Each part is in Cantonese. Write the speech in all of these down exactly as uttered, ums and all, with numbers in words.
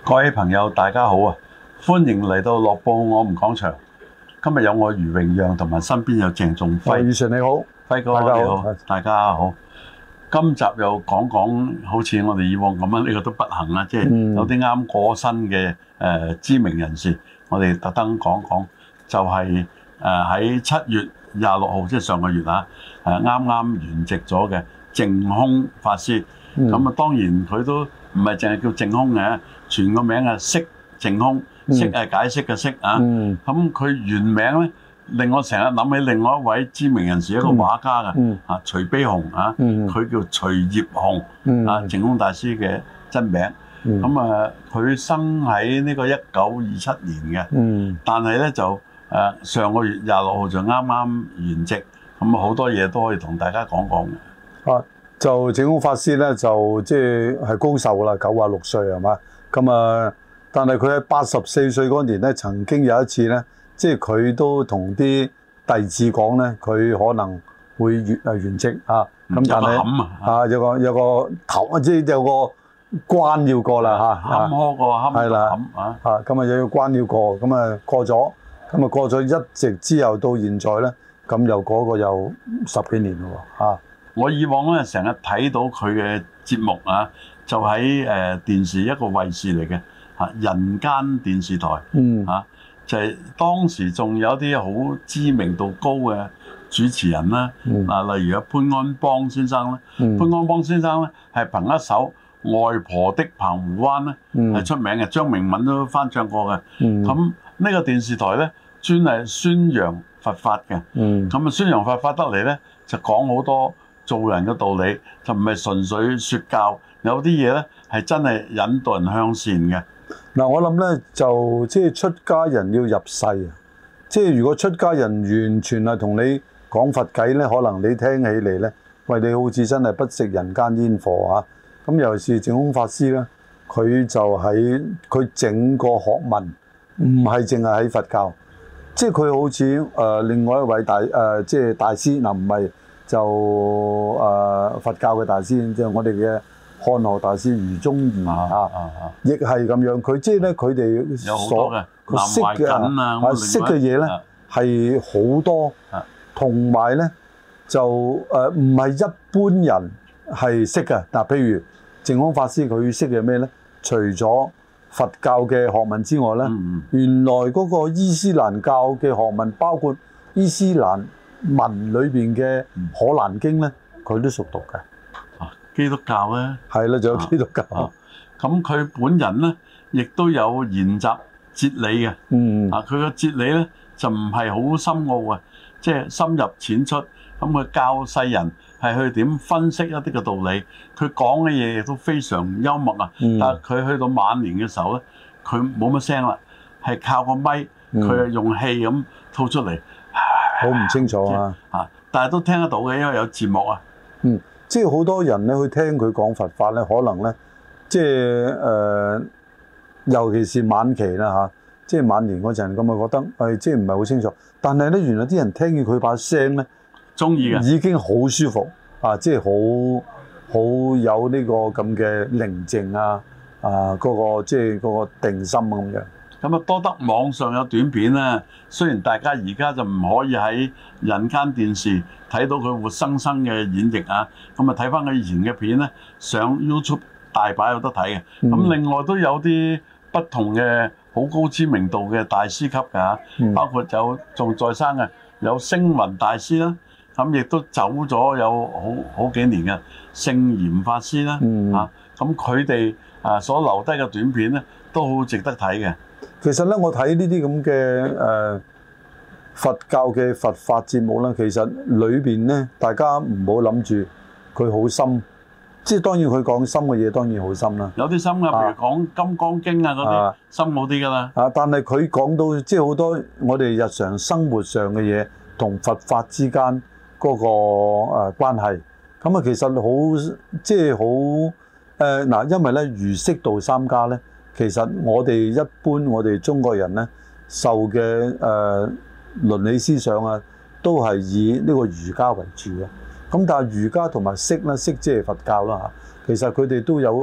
各位朋友，大家好啊！歡迎嚟到樂報我們講場。今日有我余榮讓同埋身邊有鄭仲輝。 余 Sir 你好， 輝哥你好，大家好。今集又講講，好似我哋以往咁樣，呢、這個都不行啦，即、就、係、是、有啲啱過身嘅誒、呃、知名人士，我哋特登講講，就係誒喺七月廿六號，即係上個月啊，誒啱啱圓寂咗嘅淨空法師。咁啊、嗯，當然佢都唔係淨係叫淨空嘅，全個名係釋淨空，釋係解釋嘅釋啊。咁佢、嗯、原名咧，令我成日諗起另外一位知名人士，一個畫家嘅、嗯、啊，徐悲鴻啊，佢、嗯、叫徐業鴻、嗯、啊，淨空大師嘅真名。咁、嗯、啊，佢生喺呢個一九二七年嘅，嗯、但係咧就誒、啊、上個月廿六號就啱啱圓寂，咁好多嘢都可以同大家講講嘅。 啊就淨空法師咧，就即係係高壽啦，九啊六歲係嘛？咁啊，但係佢喺八十四歲嗰年咧，曾經有一次咧，即係佢都同啲弟子講咧，佢可能會圓啊圓寂啊。咁但係啊，有個有個頭，即係有個關要過啦嚇。 坎坷過坎坷啦啊！啊咁啊，有個關要過，咁啊過咗，咁啊過咗一直之後到現在咧，咁又嗰個又十幾年咯喎嚇。 我以往咧成日睇到佢嘅節目啊，就喺誒電視一個衛視嚟嘅嚇人間電視台，嗯嚇、啊、就係、是、當時仲有啲好知名度高嘅主持人啦，嗯、啊例如阿潘安邦先生咧，嗯、潘安邦先生咧係憑一首《外婆的澎湖灣》咧係、嗯、出名嘅，張明敏都翻唱過嘅。咁呢、嗯、個電視台咧專係宣揚佛法嘅，咁啊、嗯、宣揚佛法得嚟咧就講好多做人嘅道理，就唔係純粹説教，有啲嘢咧係真係引導人向善嘅。 嗱，我諗咧就即係出家人要入世啊！即係如果出家人完全係同你講佛偈咧，可能你聽起嚟咧，喂，你好似真係不食人間煙火啊！咁尤其是淨空法師咧，佢就喺佢整個學問唔係淨係喺佛教，即係佢好似誒、呃、另外一位大誒、呃、即係大師嗱，唔、呃、係。就誒、呃、佛教嘅大師，即、就、係、是、我哋嘅漢學大師余宗義啊，亦係咁樣。佢即係咧，佢哋所佢識嘅啊，識嘅嘢咧係好多，同埋咧就誒唔係一般人係識嘅。嗱，譬如淨空法師佢識嘅咩咧？除咗佛教嘅學問之外咧，嗯、原來嗰個伊斯蘭教嘅學問，包括伊斯蘭文裏邊嘅《可蘭經》咧，佢都熟讀嘅。 啊，基督教咧， 係啦，仲有基督教。 咁佢、啊啊、本人咧，亦都有研習哲理嘅。嗯。啊，佢嘅哲理咧就唔係好深奧嘅，即係深入淺出。咁佢教世人係去點分析一啲嘅道理。佢講嘅嘢亦都非常幽默啊。嗯、但係佢去到晚年嘅時候咧，佢冇乜聲啦，係靠個咪，佢係用氣咁吐出嚟。 好唔清楚啊！ 啊，但係都聽得到嘅，因為有字幕啊。 嗯，即係好多人咧去聽佢講佛法咧，可能咧，即係誒、呃，尤其是晚期啦嚇、啊，即係晚年嗰陣咁啊，覺得誒、哎，即係唔係好清楚。但係咧，原來啲人聽見佢把聲咧， 中意嘅， 已經好舒服啊！即係好好有呢個咁嘅寧靜啊啊，嗰、那個即係嗰個定心咁樣。 咁啊，多得網上有短片咧。雖然大家而家就唔可以喺人間電視睇到佢活生生嘅演繹啊，咁啊睇翻佢以前嘅片咧，上 YouTube 大把有得睇嘅。咁、嗯、另外都有啲不同嘅好高知名度嘅大師級㗎嚇，嗯、包括有仲在生嘅有星雲大師啦，咁亦都走咗有好好幾年嘅聖嚴法師啦嚇。咁佢哋啊所留低嘅短片咧，都好值得睇嘅。 其實咧，我睇呢啲咁嘅誒佛教嘅佛法節目咧，其實裏邊咧，大家唔好諗住佢好深，即係當然佢講深嘅嘢當然好深啦。 有啲深嘅，譬如講《金剛經》啊嗰啲，啊、深好啲㗎啦。 啊，但係佢講到即係好多我哋日常生活上嘅嘢同佛法之間嗰個誒關係，咁啊其實好即係好誒嗱，因為咧儒釋道三家咧。其實我哋一般我哋中國人咧受嘅誒、呃、倫理思想啊，都係以呢個儒家為主嘅。咁但係儒家同埋釋咧，釋即係佛教啦嚇。其實佢哋都有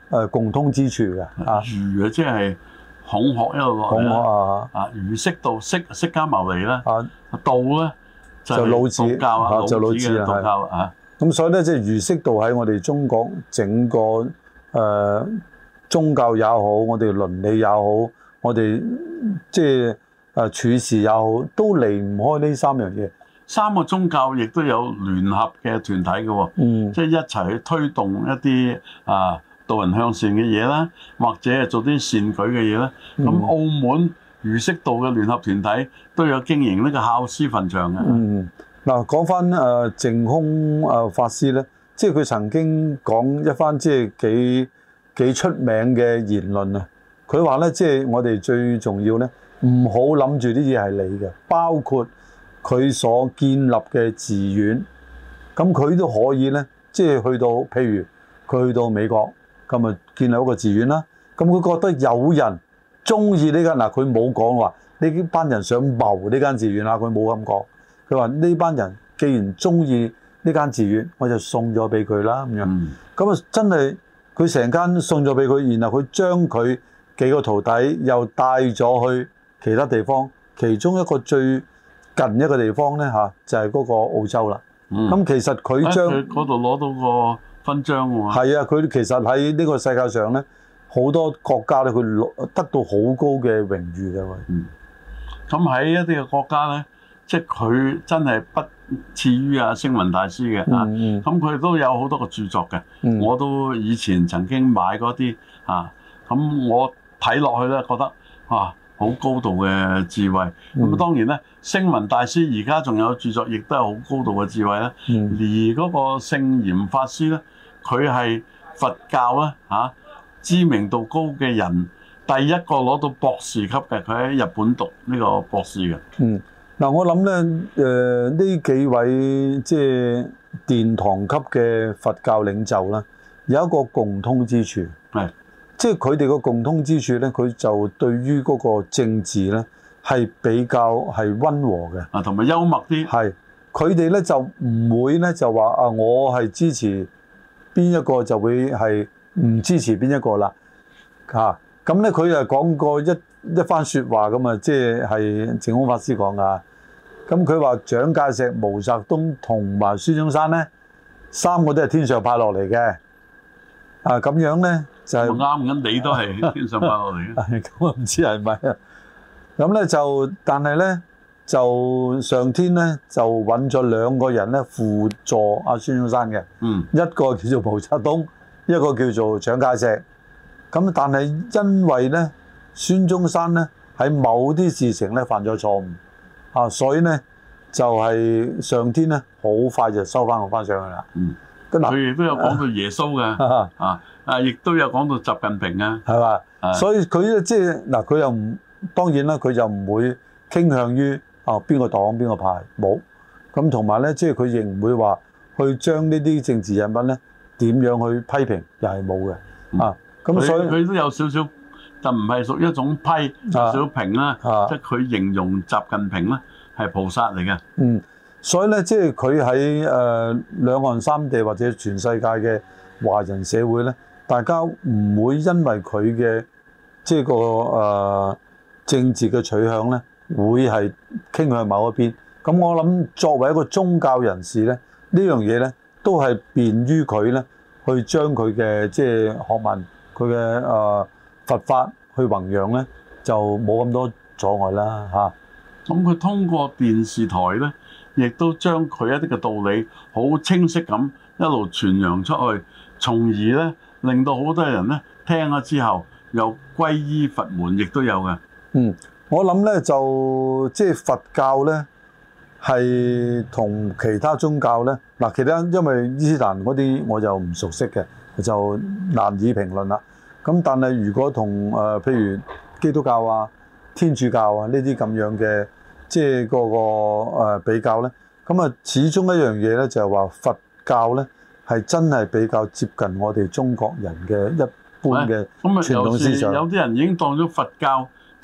誒共通之處嘅啊。 儒啊，即係孔學一路落嚟啦。啊，儒釋道，釋釋迦牟尼啦。啊，道咧就老子教啊，就老子嘅道教啊。 咁所以咧，即係儒釋道喺我哋中國整個誒、呃、宗教也好，我哋倫理也好，我哋即係誒處事也好，都離唔開呢三樣嘢。 三個宗教亦都有聯合嘅團體嘅喎，嗯、即係一齊去推動一啲啊導人向善嘅嘢啦，或者係做啲善舉嘅嘢啦。咁、嗯、澳門儒釋道嘅聯合團體都有經營呢個孝思墳場嘅。嗯， 嗱講翻誒淨空誒法師咧，即係佢曾經講一番即係幾幾出名嘅言論啊。佢話咧，即係我哋最重要咧，唔好諗住啲嘢係你嘅，包括佢所建立嘅寺院，咁佢都可以咧，即係去到，譬如佢去到美國，咁咪建立一個寺院啦。咁佢覺得有人中意呢間，嗱佢冇講話呢班人想謀呢間寺院啊，佢冇咁講。佢話呢班人既然中意呢間寺院，我就送咗俾佢啦咁樣。咁啊、嗯、真係佢成間送咗俾佢，然後佢將佢幾個徒弟又帶咗去其他地方，其中一個最近一個地方咧嚇，就係、是、嗰個澳洲啦。咁、嗯、其實佢將嗰度攞到個勳章喎。 係啊，佢其實喺呢個世界上咧，好多國家咧，佢攞得到好高嘅榮譽嘅喎。 嗯。咁喺一啲嘅國家咧，即係佢真係不次於啊星雲大師嘅啊。嗯。咁佢都有好多個著作嘅。嗯。我都以前曾經買嗰啲啊，咁我睇落去咧，覺得啊〜好高度嘅智慧，咁啊、嗯、當然咧，星雲大師而家仲有著作，亦都係好高度嘅智慧啦。嗯、而嗰個聖嚴法師咧，佢係佛教咧嚇、啊、知名度高嘅人，第一個攞到博士級嘅，佢喺日本讀呢個博士嘅。嗯， 嗱我諗咧，誒呢幾位即係殿堂級嘅佛教領袖啦，有一個共通之處係。即係佢哋個共通之處咧，佢就對於嗰個政治咧係比較係溫和嘅， 啊，同埋幽默啲。 係佢哋咧就唔會咧就話啊，我係支持邊一個就會係唔支持邊一個啦。嚇咁咧，佢又講過一一番説話咁啊，即係係淨空法師講噶。咁佢話蔣介石、毛澤東同埋孫中山咧，三個都係天上派落嚟嘅。啊咁樣咧。就係啱嘅，你都係天上派落嚟嘅。 咁我唔知係咪啊？咁咧就，但係咧就上天咧就揾咗兩個人咧輔助阿孫中山嘅。嗯。一個叫做毛澤東，一個叫做蔣介石。咁但係因為咧孫中山咧喺某啲事情咧犯咗錯誤啊，所以咧就係上天咧好快就收翻我翻上去啦。嗯。 佢亦都有講到耶穌嘅啊。啊啊！亦都有講到習近平啊， 係嘛吧？是所以佢咧即係嗱，佢又唔當然啦，佢就唔會傾向於啊邊個黨邊個派冇咁，同埋咧即係佢亦唔會話去將呢啲政治人物咧點樣去批評，又係冇嘅啊。咁所以佢都有少少，就唔係屬於一種批，有少少評啦。即係佢形容習近平咧係菩薩嚟嘅。嗯， 所以咧即係佢喺誒兩岸三地或者全世界嘅華人社會咧。大家唔會因為佢嘅即係個誒、呃、政治嘅取向咧，會係傾向某一邊。咁我諗作為一個宗教人士咧，呢樣嘢咧都係便於佢咧去將佢嘅即係學問、佢嘅誒佛法去弘揚咧，就冇咁多阻礙啦嚇。 咁佢通過電視台咧，亦都將佢一啲嘅道理好清晰咁一路傳揚出去，從而咧。令到好多人咧聽咗之後又皈依佛門，亦都有嘅。 嗯，我諗咧就即係佛教咧係同其他宗教咧嗱，其他因為伊斯蘭嗰啲我就唔熟悉嘅，就難以評論啦。咁但係如果同誒、呃、譬如基督教啊、天主教啊呢啲咁樣嘅即係個個誒比較咧，咁啊始終一樣嘢咧就係話佛教咧。係真係比較接近我哋中國人嘅一般嘅傳統思想。 有啲人已經當咗佛教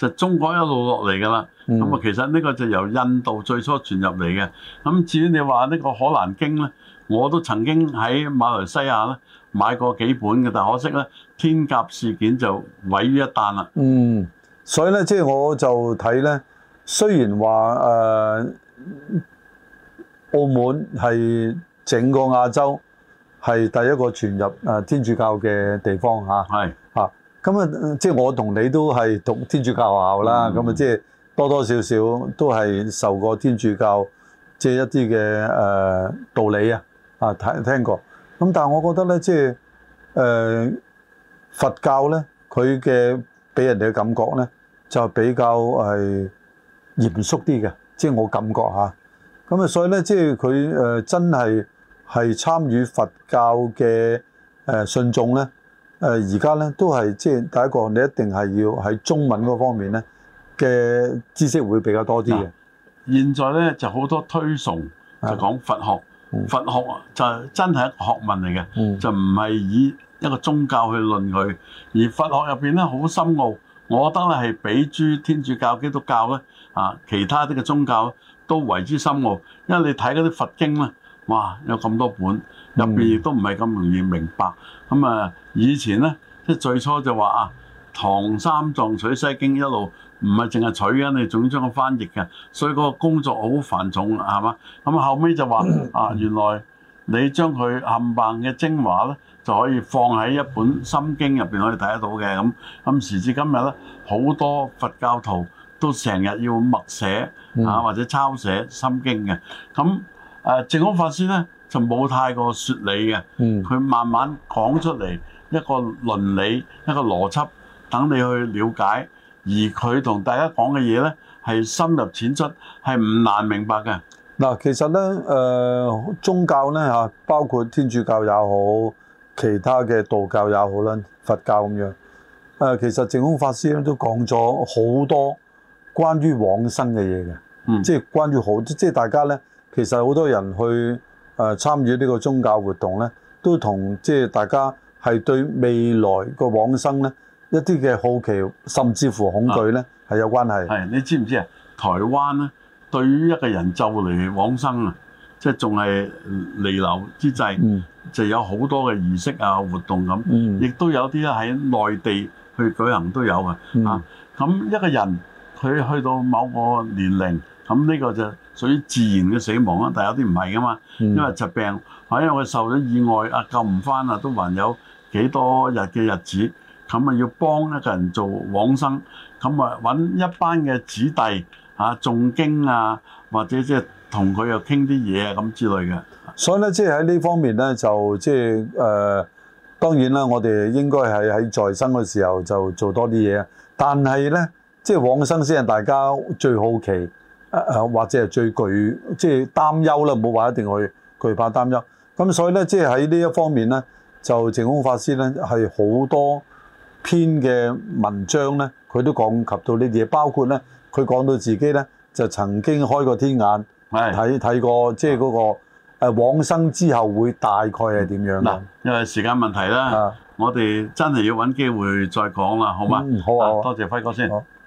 就中國一路落嚟㗎啦。咁啊、嗯，其實呢個就由印度最初傳入嚟嘅。咁至於你話呢個《可蘭經》咧，我都曾經喺馬來西亞咧買過幾本嘅，但可惜咧天鴿事件就毀於一旦啦。 嗯，所以咧即係我就睇咧，雖然話誒、呃、澳門係整個亞洲係第一個傳入誒天主教嘅地方嚇。係嚇，咁啊即係我同你都係讀天主教學校啦，咁啊、嗯、即係多多少少都係受過天主教即係一啲嘅誒道理啊啊聽聽過。咁但係我覺得咧，即係誒、呃、佛教咧，佢嘅俾人哋嘅感覺咧，就比較係嚴肅啲嘅，即係我感覺嚇。咁啊，所以咧，即係佢誒真係係參與佛教嘅誒信眾咧，誒而家咧都係即係第一個，你一定係要喺中文嗰方面咧嘅知識會比較多啲嘅。 現在咧就好多推崇就講佛學。佛學就真係一個學問嚟嘅，嗯、就唔係以一個宗教去論佢，而佛學入邊咧好深奧，我覺得咧係比諸天主教、基督教咧啊，其他啲嘅宗教都為之深奧，因為你睇嗰啲佛經咧，哇有咁多本，入邊亦都唔係咁容易明白。咁啊，以前咧即係最初就話啊，唐三藏取西經一路。唔係淨係取嘅，你總將佢翻譯嘅，所以嗰個工作好繁重，係嘛？咁後尾就話啊，原來你將佢冚唪唥嘅精華咧，就可以放喺一本心經入邊可以睇得到嘅。咁咁時至今日咧，好多佛教徒都成日要默寫啊或者抄寫心經嘅。咁誒淨空法師咧就冇太過説理嘅，佢慢慢講出嚟一個倫理、一個邏輯，等你去了解。而佢同大家講嘅嘢咧，係深入淺出，係唔難明白嘅。 嗱，其實咧，誒、呃、宗教咧嚇，包括天主教也好，其他嘅道教也好啦，佛教咁樣。誒、呃，其實淨空法師咧都講咗好多關於往生嘅嘢嘅，嗯、即係關於好，即係大家咧，其實好多人去誒、呃、參與呢個宗教活動咧，都同即係大家係對未來個往生咧。一啲嘅好奇，甚至乎恐懼咧，係、啊、有關係。係你知唔知啊？台灣咧，對於一個人就嚟往生啊，即係仲係彌留之際，嗯、就有好多嘅儀式啊、活動咁，亦、嗯、都有啲咧喺內地去舉行都有嘅。嗯、啊，咁一個人佢去到某個年齡，咁呢個就屬於自然嘅死亡啦。但係有啲唔係噶嘛，嗯、因為疾病，或者佢受咗意外啊，救唔翻啊，都還有幾多日嘅日子。咁啊，要幫一個人做往生，咁啊揾一班嘅子弟嚇誦經啊，或者即係同佢又傾啲嘢啊咁之類嘅。 所以咧，即係喺呢方面咧，就即係誒，當然啦，我哋應該係喺在，在生嘅時候就做多啲嘢。但係咧，即係往生先係大家最好奇，誒、呃、或者係最懼即係擔憂啦，唔好話一定去懼怕擔憂。咁所以咧，即係喺呢一方面咧，就淨空法師咧係好多篇嘅文章咧，佢都講及到呢啲嘢，包括咧，佢講到自己咧就曾經開過天眼，睇睇過即係嗰個誒往生之後會大概係點樣嗱， 因為時間問題啦，啊、我哋真係要揾機會再講啦，好嗎？ 嗯，好啊， 多謝輝哥先。好。